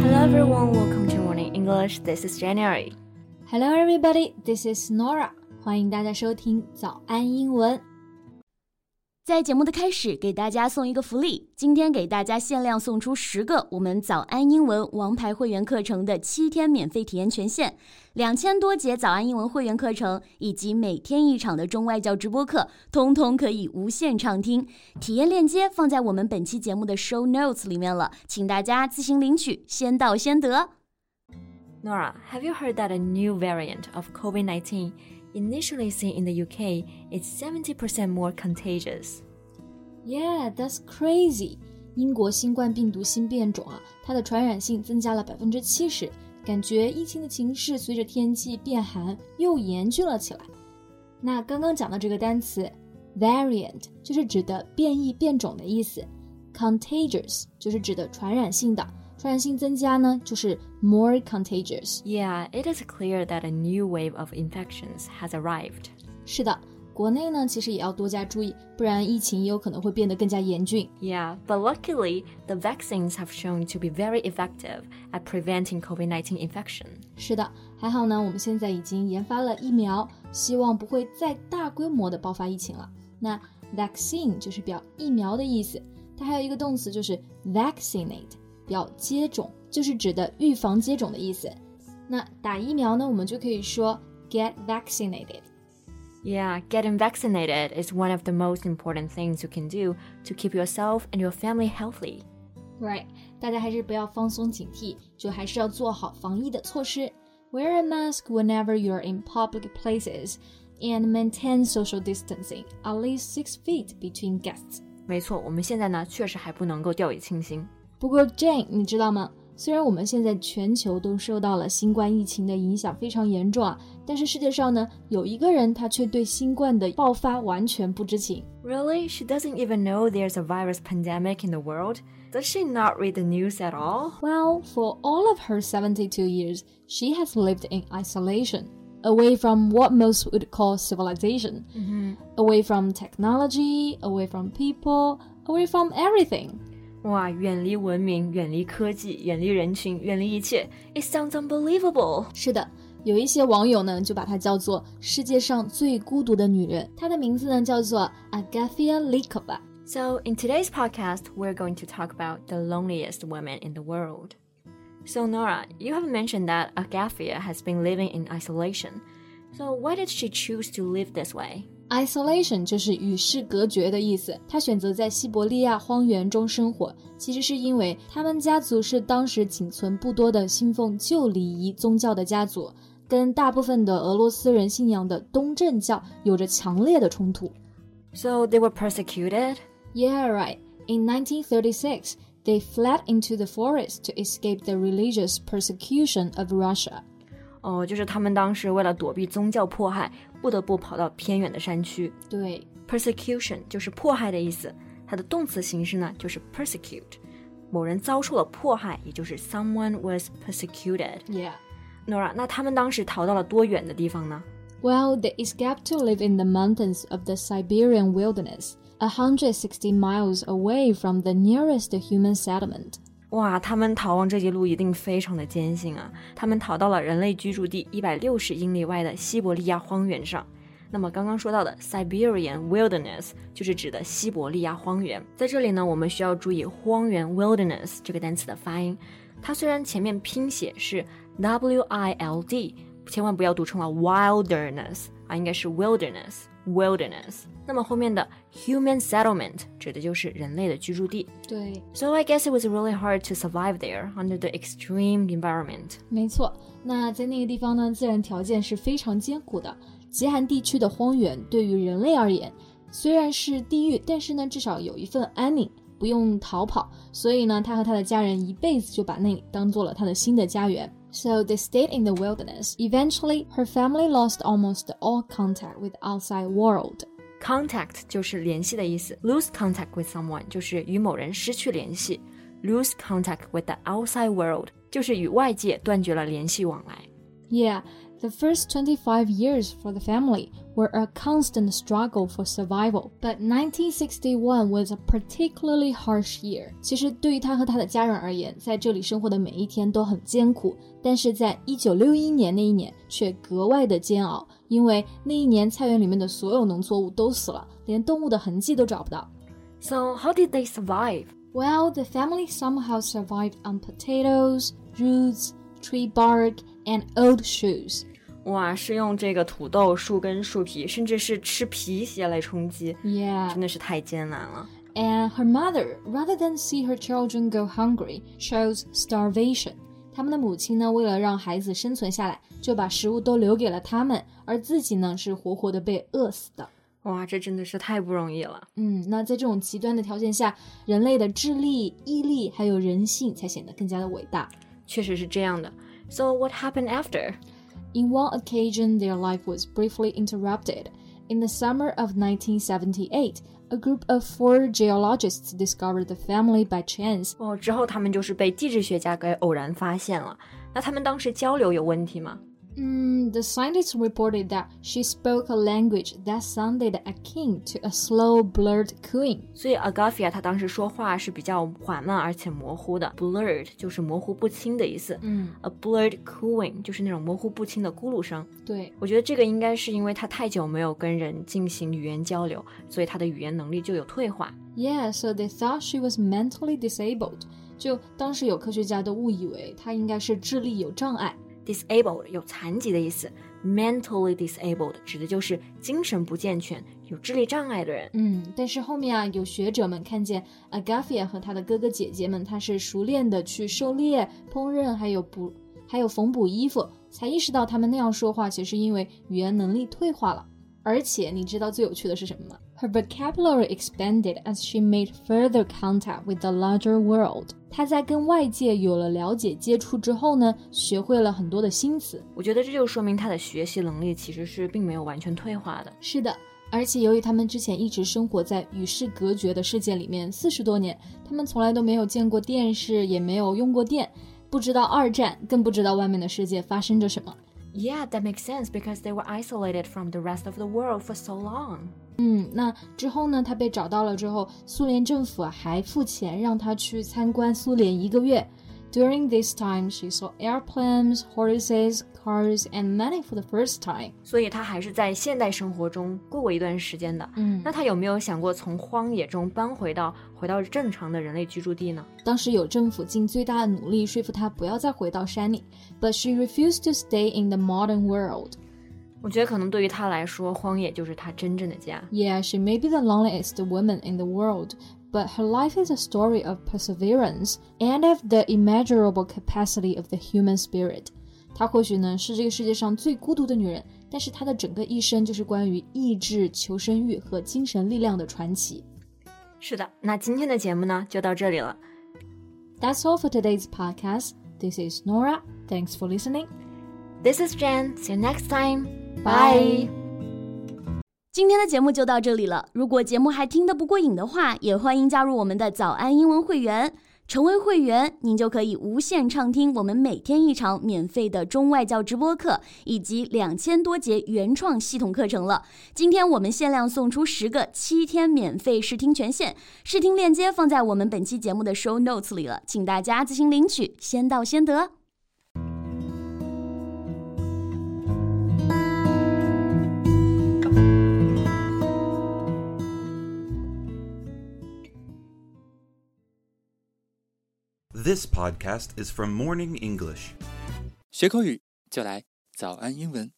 Hello everyone, welcome to Morning English. This is January. Hello everybody, this is Nora. 欢迎大家收听早安英文。 在节目的开始，给大家送一个福利，今天给大家限量送出10个我们早安英文王牌会员课程的7天免费体验权限，2000多节早安英文会员课程以及每天1场的中外教直播课，通通可以无限畅听。体验链接放在我们本期节目的 show notes 里面了，请大家自行领取，先到先得。 Nora, have you heard that a new variant of COVID-19 initially seen in the UK is 70% more contagious? Yeah, that's crazy. 英国新冠病毒新变种它的传染性增加了70%，感觉疫情的情势随着天气变寒又严峻了起来。那刚刚讲的这个单词 variant 就是指的变异变种的意思， contagious 就是指的传染性的，传染性增加呢，就是 more contagious. Yeah, it is clear that a new wave of infections has arrived. 是的，国内呢其实也要多加注意，不然疫情也有可能会变得更加严峻。 Yeah, but luckily, the vaccines have shown to be very effective at preventing COVID-19 infection. 是的，还好呢，我们现在已经研发了疫苗，希望不会再大规模的爆发疫情了。那 vaccine 就是表疫苗的意思，它还有一个动词就是 vaccinate。表接种就是指的预防接种的意思。那打疫苗呢，我们就可以说 get vaccinated. Yeah, getting vaccinated is one of the most important things you can do to keep yourself and your family healthy. Right, 大家还是不要放松警惕，就还是要做好防疫的措施。Wear a mask whenever you're in public places and maintain social distancing, at least 6 feet between guests. 没错，我们现在呢确实还不能够掉以轻心。 不过 Jane 你知道吗，虽然我们现在全球都受到了新冠疫情的影响非常严重但是世界上呢有一个人他却对新冠的爆发完全不知情。 Really? She doesn't even know there's a virus pandemic in the world? Does she not read the news at all? Well, for all of her 72 years, she has lived in isolation, away from what most would call civilization, away from technology, away from people, away from everything. 哇，远离文明，远离科技，远离人群，远离一切 It sounds unbelievable. 是的，有一些网友呢就把她叫做世界上最孤独的女人，她的名字呢叫做 Agafia Likova. So in today's podcast, we're going to talk about the loneliest woman in the world. So Nora, you have mentioned that Agafia has been living in isolation. So why did she choose to live this way?Isolation 就是与世隔绝的意思，他选择在西伯利亚荒原中生活，其实是因为他们家族是当时仅存不多的信奉旧礼仪宗教的家族，跟大部分的俄罗斯人信仰的东正教有着强烈的冲突。 So they were persecuted? Yeah, right. In 1936, they fled into the forest to escape the religious persecution of Russia. 就是他们当时为了躲避宗教迫害，不得不跑到偏远的山区。 对 ，persecution 就是迫害的意思，它的动词形式呢就是 persecute。某人遭受了迫害，也就是 someone was persecuted. Yeah. Nora, 那他们当时逃到了多远的地方呢？ Well, they escaped to live in the mountains of the Siberian wilderness, 160 miles away from the nearest human settlement. 哇，他们逃亡这一路一定非常的艰辛啊！他们逃到了人类居住地160英里外的西伯利亚荒原上。那么刚刚说到的 Siberian Wilderness 就是指的西伯利亚荒原。在这里呢，我们需要注意荒原 Wilderness 这个单词的发音。它虽然前面拼写是 W-I-L-D， 千万不要读成了 Wilderness 应该是 Wilderness。那么后面的 human settlement 指的就是人类的居住地。 对 So I guess it was really hard to survive there under the extreme environment. 没错，那在那个地方呢，自然条件是非常艰苦的。极寒地区的荒原对于人类而言，虽然是地狱，但是呢，至少有一份安宁，不用逃跑。所以呢，他和他的家人一辈子就把那里当做了他的新的家园。So they stayed in the wilderness. Eventually, her family lost almost all contact with the outside world.Contact 就是联系的意思 Lose contact with someone 就是与某人失去联系 Lose contact with the outside world 就是与外界断绝了联系往来 Yeah, The first 25 years for the family were a constant struggle for survival, but 1961 was a particularly harsh year. 其实对于他和他的家人而言，在这里生活的每一天都很艰苦，但是在1961年那一年却格外的煎熬，因为那一年菜园里面的所有农作物都死了，连动物的痕迹都找不到。 So how did they survive? Well, the family somehow survived on potatoes, roots, tree bark, and old shoes. 哇，是用这个土豆、树根、树皮，甚至是吃皮鞋来充饥。 Yeah. 真的是太艰难了。 And her mother, rather than see her children go hungry, chose starvation. 他们的母亲呢，为了让孩子生存下来，就把食物都留给了他们，而自己呢，是活活的被饿死的。 哇，这真的是太不容易了。 那在这种极端的条件下，人类的智力、毅力还有人性才显得更加的伟大。 确实是这样的。So what happened after? In one occasion, their life was briefly interrupted. In the summer of 1978, a group of 4 geologists discovered the family by chance. 之后他们就是被地质学家给偶然发现了。那他们当时交流有问题吗 ？The scientists reported that she spoke a language that sounded akin to a slow, blurred cooing. 所以 Agafia 她当时说话是比较缓慢而且模糊的。Blurred 就是模糊不清的意思。A blurred cooing 就是那种模糊不清的咕噜声。 对， 我觉得这个应该是因为她太久没有跟人进行语言交流，所以她的语言能力就有退化。 Yeah, so they thought she was mentally disabled. 就当时有科学家都误以为她应该是智力有障碍。 Disabled 有残疾的意思 ，mentally disabled 指的就是精神不健全、有智力障碍的人。 但是后面啊，有学者们看见 Agafia 和她的哥哥姐姐们，她是熟练的去狩猎、烹饪，还有缝补衣服，才意识到他们那样说话，其实是因为语言能力退化了。而且你知道最有趣的是什么吗？ Her vocabulary expanded as she made further contact with the larger world. 她在跟外界有了了解接触之后呢，学会了很多的新词。 我觉得这就说明她的学习能力其实是并没有完全退化的。 是的，而且由于他们之前一直生活在与世隔绝的世界里面40多年，他们从来都没有见过电视，也没有用过电，不知道二战，更不知道外面的世界发生着什么。 Yeah, that makes sense because they were isolated from the rest of the world for so long. 那之后呢，他被找到了之后，苏联政府还付钱让他去参观苏联1个月。During this time, she saw airplanes, horses, cars, and money for the first time. 所以她还是在现代生活中过一段时间的。那她有没有想过从荒野中搬回到正常的人类居住地呢？ 当时有政府尽最大的努力说服她不要再回到山里 ，but she refused to stay in the modern world. 我觉得可能对于她来说，荒野就是她真正的家。 Yeah, she may be the loneliest woman in the world.But her life is a story of perseverance and of the immeasurable capacity of the human spirit. 她或许呢是这个世界上最孤独的女人，但是她的整个一生就是关于意志、求生欲和精神力量的传奇。 是的，那今天的节目呢就到这里了。 That's all for today's podcast. This is Nora. Thanks for listening. This is Jen. See you next time. Bye. 今天的节目就到这里了。如果节目还听得不过瘾的话，也欢迎加入我们的早安英文会员。成为会员，您就可以无限畅听我们每天一场免费的中外教直播课，以及2000多节原创系统课程了。今天我们限量送出10个7天免费试听权限，试听链接放在我们本期节目的 show notes 里了，请大家自行领取，先到先得。 This podcast is from Morning English. 学口语就来早安英文。